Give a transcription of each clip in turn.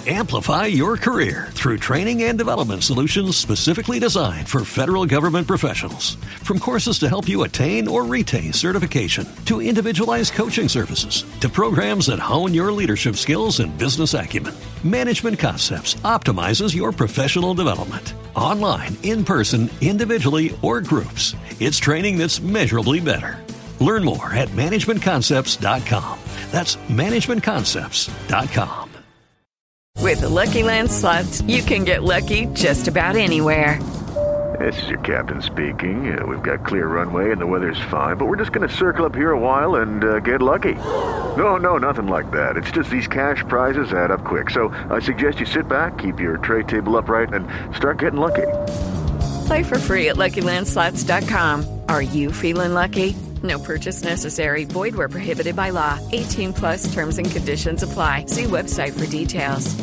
Amplify your career through training and development solutions specifically designed for federal government professionals. From courses to help you attain or retain certification, to individualized coaching services, to programs that hone your leadership skills and business acumen, Management Concepts optimizes your professional development. Online, in person, individually, or groups, it's training that's measurably better. Learn more at managementconcepts.com. That's managementconcepts.com. With the Lucky Land Slots, you can get lucky just about anywhere. This is your captain speaking. We've got clear runway and the weather's fine, but we're just going to circle up here a while and get lucky. No, nothing like that. It's just these cash prizes add up quick. So I suggest you sit back, keep your tray table upright, and start getting lucky. Play for free at LuckyLandSlots.com. Are you feeling lucky? No purchase necessary. Void where prohibited by law. 18 plus terms and conditions apply. See website for details.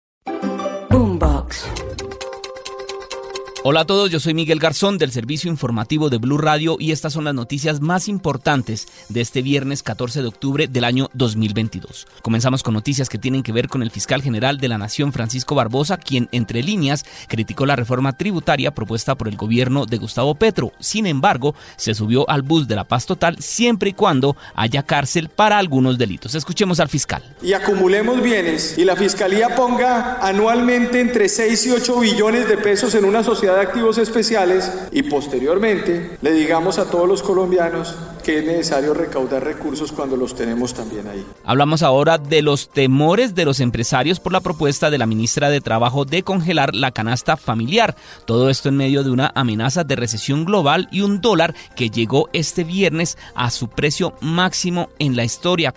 Boombox. Hola a todos, yo soy Miguel Garzón del servicio informativo de Blue Radio y estas son las noticias más importantes de este viernes 14 de octubre del año 2022. Comenzamos con noticias que tienen que ver con el fiscal general de la Nación, Francisco Barbosa, quien entre líneas criticó la reforma tributaria propuesta por el gobierno de Gustavo Petro. Sin embargo, se subió al bus de la paz total siempre y cuando haya cárcel para algunos delitos. Escuchemos al fiscal. Y acumulemos bienes y la fiscalía ponga anualmente entre 6 y 8 billones de pesos en una sociedad de activos especiales y posteriormente le digamos a todos los colombianos que es necesario recaudar recursos cuando los tenemos también ahí. Hablamos ahora de los temores de los empresarios por la propuesta de la ministra de Trabajo de congelar la canasta familiar. Todo esto en medio de una amenaza de recesión global y un dólar que llegó este viernes a su precio máximo en la historia,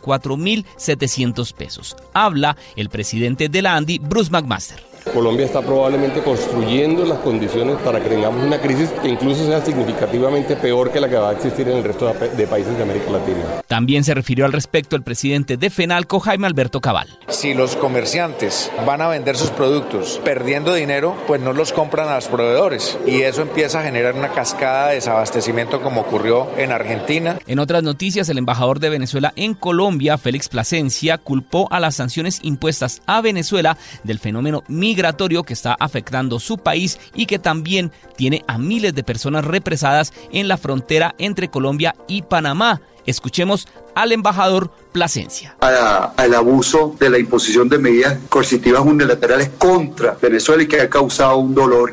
4.700 pesos. Habla el presidente de la ANDI, Bruce McMaster. Colombia está probablemente construyendo las condiciones para que tengamos una crisis que incluso sea significativamente peor que la que va a existir en el resto de países de América Latina. También se refirió al respecto el presidente de FENALCO, Jaime Alberto Cabal. Si los comerciantes van a vender sus productos perdiendo dinero, pues no los compran a los proveedores y eso empieza a generar una cascada de desabastecimiento como ocurrió en Argentina. En otras noticias, el embajador de Venezuela en Colombia, Félix Plasencia, culpó a las sanciones impuestas a Venezuela del fenómeno migratorio que está afectando su país y que también tiene a miles de personas represadas en la frontera entre Colombia y Panamá. Escuchemos al embajador Plasencia. Al abuso de la imposición de medidas coercitivas unilaterales contra Venezuela y que ha causado un dolor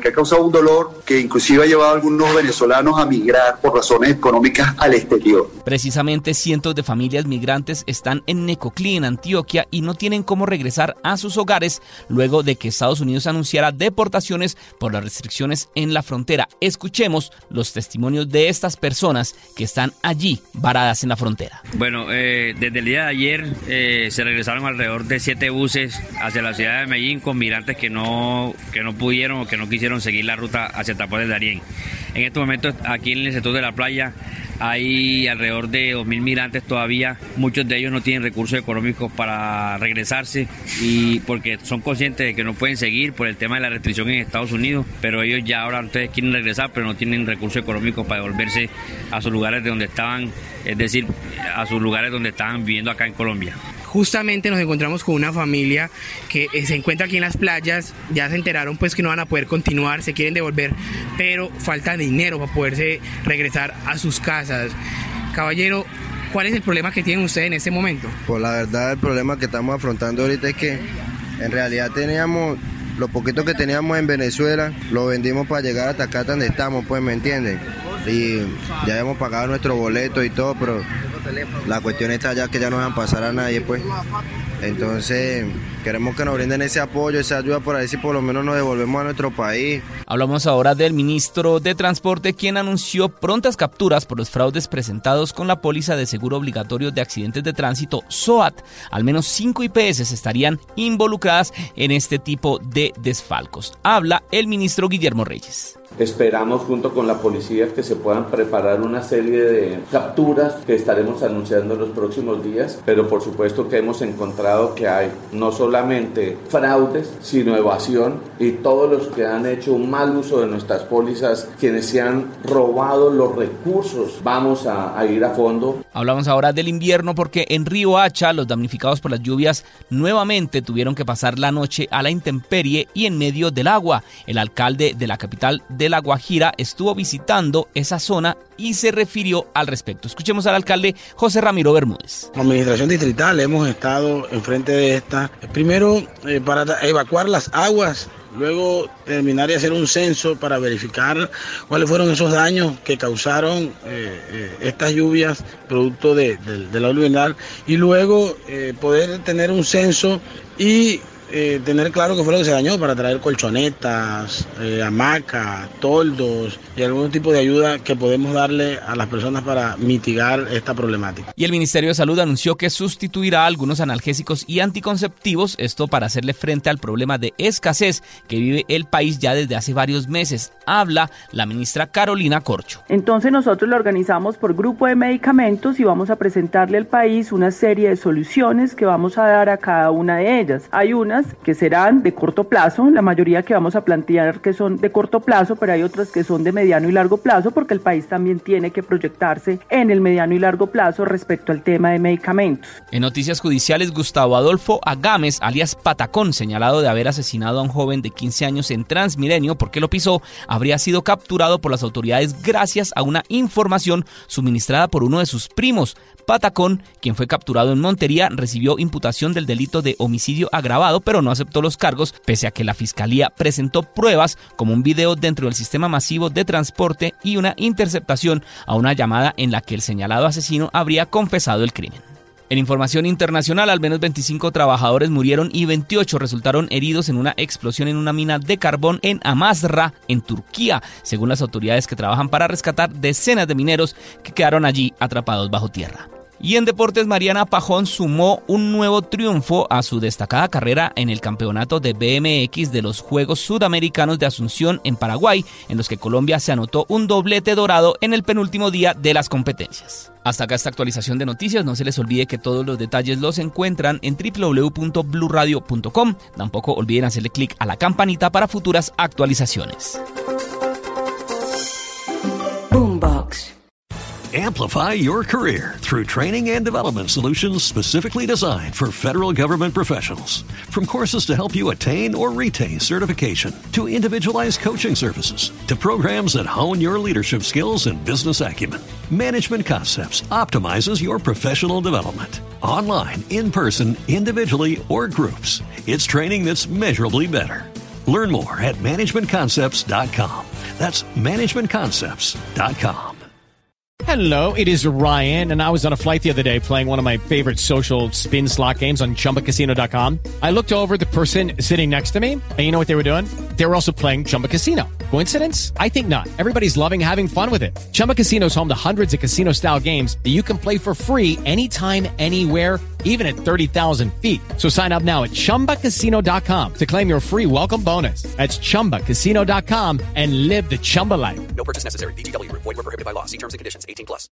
que inclusive ha llevado a algunos venezolanos a migrar por razones económicas al exterior. Precisamente cientos de familias migrantes están en Necoclí, en Antioquia, y no tienen cómo regresar a sus hogares luego de que Estados Unidos anunciara deportaciones por las restricciones en la frontera. Escuchemos los testimonios de estas personas que están allí varadas en la frontera. Bueno, desde el día de ayer se regresaron alrededor de 7 buses hacia la ciudad de Medellín con migrantes que no pudieron o que no quisieron seguir la ruta hacia Tapones de Darién. En estos momentos aquí en el sector de la playa hay alrededor de 2.000 migrantes todavía. Muchos de ellos no tienen recursos económicos para regresarse y porque son conscientes de que no pueden seguir por el tema de la restricción en Estados Unidos, pero ellos ya ahora ustedes quieren regresar, pero no tienen recursos económicos para devolverse a sus lugares de donde estaban, es decir, a sus lugares donde estaban viviendo acá en Colombia. Justamente nos encontramos con una familia que se encuentra aquí en las playas, ya se enteraron pues que no van a poder continuar, se quieren devolver, pero falta dinero para poderse regresar a sus casas. Caballero, ¿cuál es el problema que tienen ustedes en este momento? Pues la verdad el problema que estamos afrontando ahorita es que en realidad teníamos lo poquito que teníamos en Venezuela, lo vendimos para llegar hasta acá donde estamos, pues, ¿me entienden? Y ya hemos pagado nuestro boleto y todo, pero la cuestión está ya que ya no dejan pasar a nadie, pues. Entonces, queremos que nos brinden ese apoyo, esa ayuda para ver si por lo menos nos devolvemos a nuestro país. Hablamos ahora del ministro de Transporte, quien anunció prontas capturas por los fraudes presentados con la póliza de seguro obligatorio de accidentes de tránsito, SOAT. Al menos 5 IPS estarían involucradas en este tipo de desfalcos. Habla el ministro Guillermo Reyes. Esperamos junto con la policía que se puedan preparar una serie de capturas que estaremos anunciando en los próximos días, pero por supuesto que hemos encontrado que hay no solamente fraudes, sino evasión, y todos los que han hecho un mal uso de nuestras pólizas, quienes se han robado los recursos, vamos a ir a fondo. Hablamos ahora del invierno porque en Río Hacha los damnificados por las lluvias nuevamente tuvieron que pasar la noche a la intemperie y en medio del agua. El alcalde de la capital de La Guajira estuvo visitando esa zona y se refirió al respecto. Escuchemos al alcalde José Ramiro Bermúdez. Como administración distrital hemos estado enfrente de esta, primero para evacuar las aguas, luego terminar y hacer un censo para verificar cuáles fueron esos daños que causaron estas lluvias producto de la aluvional, y luego poder tener un censo y tener claro qué fue lo que se dañó para traer colchonetas, hamacas, toldos y algún tipo de ayuda que podemos darle a las personas para mitigar esta problemática. Y el Ministerio de Salud anunció que sustituirá algunos analgésicos y anticonceptivos, esto para hacerle frente al problema de escasez que vive el país ya desde hace varios meses. Habla la ministra Carolina Corcho. Entonces nosotros lo organizamos por grupo de medicamentos y vamos a presentarle al país una serie de soluciones que vamos a dar a cada una de ellas. Hay unas que serán de corto plazo, la mayoría que vamos a plantear que son de corto plazo, pero hay otras que son de mediano y largo plazo, porque el país también tiene que proyectarse en el mediano y largo plazo respecto al tema de medicamentos. En noticias judiciales, Gustavo Adolfo Agames, alias Patacón, señalado de haber asesinado a un joven de 15 años en Transmilenio porque lo pisó, habría sido capturado por las autoridades gracias a una información suministrada por uno de sus primos. Patacón, quien fue capturado en Montería, recibió imputación del delito de homicidio agravado, pero no aceptó los cargos, pese a que la fiscalía presentó pruebas como un video dentro del sistema masivo de transporte y una interceptación a una llamada en la que el señalado asesino habría confesado el crimen. En información internacional, al menos 25 trabajadores murieron y 28 resultaron heridos en una explosión en una mina de carbón en Amasra, en Turquía, según las autoridades que trabajan para rescatar decenas de mineros que quedaron allí atrapados bajo tierra. Y en deportes, Mariana Pajón sumó un nuevo triunfo a su destacada carrera en el campeonato de BMX de los Juegos Sudamericanos de Asunción en Paraguay, en los que Colombia se anotó un doblete dorado en el penúltimo día de las competencias. Hasta acá esta actualización de noticias. No se les olvide que todos los detalles los encuentran en www.bluradio.com. Tampoco olviden hacerle clic a la campanita para futuras actualizaciones. Boombox. Amplify your career through training and development solutions specifically designed for federal government professionals. From courses to help you attain or retain certification, to individualized coaching services, to programs that hone your leadership skills and business acumen, Management Concepts optimizes your professional development. Online, in person, individually, or groups, it's training that's measurably better. Learn more at managementconcepts.com. That's managementconcepts.com. Hello, it is Ryan, and I was on a flight the other day playing one of my favorite social spin slot games on ChumbaCasino.com. I looked over at the person sitting next to me, and you know what they were doing? They were also playing Chumba Casino. Coincidence? I think not. Everybody's loving having fun with it. Chumba Casino is home to hundreds of casino-style games that you can play for free anytime, anywhere, even at 30,000 feet. So sign up now at ChumbaCasino.com to claim your free welcome bonus. That's ChumbaCasino.com and live the Chumba life. No purchase necessary. VGW. Void where prohibited by law. See terms and conditions. 18+.